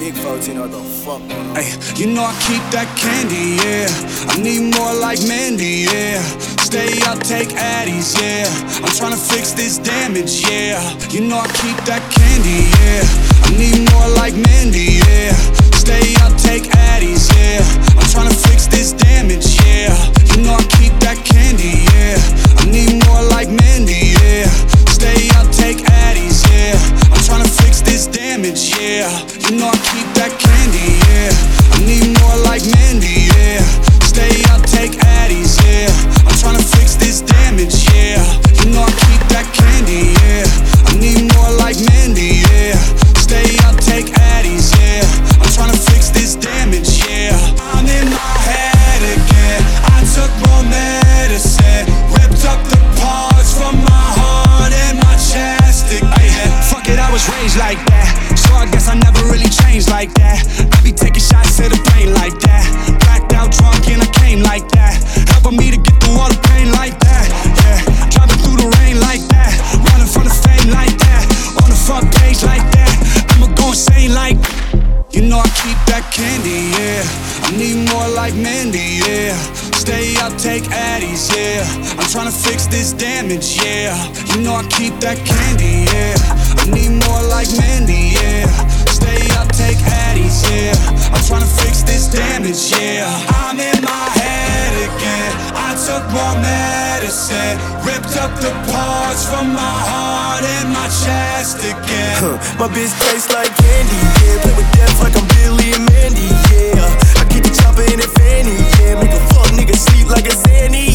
Big 14, what the fuck going on? Ay, you know I keep that candy, yeah. I need more like Mandy, yeah. Stay up, take Addies, yeah. I'm tryna fix this damage, yeah. You know I keep that candy, yeah. I need more like Mandy, yeah. Stay up, take Addies, yeah. I'm tryna fix this damage, yeah. You know I keep that candy, yeah. I need more like Mandy, yeah. Stay up, take Addies, yeah. I'm tryna fix this damage, yeah. You know I keep that candy, yeah. I need more like Mandy, yeah. Stay up, take Addies, yeah. I'm tryna fix this damage, yeah. You know I keep that candy, yeah. I need more like Mandy, yeah. Stay up, take Addies, yeah. I'm tryna fix this damage, yeah. I'm in my head again. I took more medicine, ripped up the parts from my heart and my chest again. Fuck it, I was raised like that, so I guess I never really changed like that. I be taking shots to the brain like that. Blacked out drunk and I came like that. Helping me to get through all the pain like that. Yeah, driving through the rain like that. Running from the fame like that. On the front page like that. I'ma go insane like. You know I keep that candy, yeah. I need more like Mandy, yeah. Stay up, take Addies, yeah. I'm tryna fix this damage, yeah. You know I keep that candy, yeah. I need more like Mandy, yeah. Stay up, take Addies, yeah. I'm tryna fix this damage, yeah. I'm in my head again. I took more medicine, ripped up the parts from my heart and my chest again. My bitch tastes like candy, yeah. Play with death like I'm Billy and Mandy, yeah. I keep the chopper in a fanny, yeah. Make a fuck nigga sleep like a Zanny,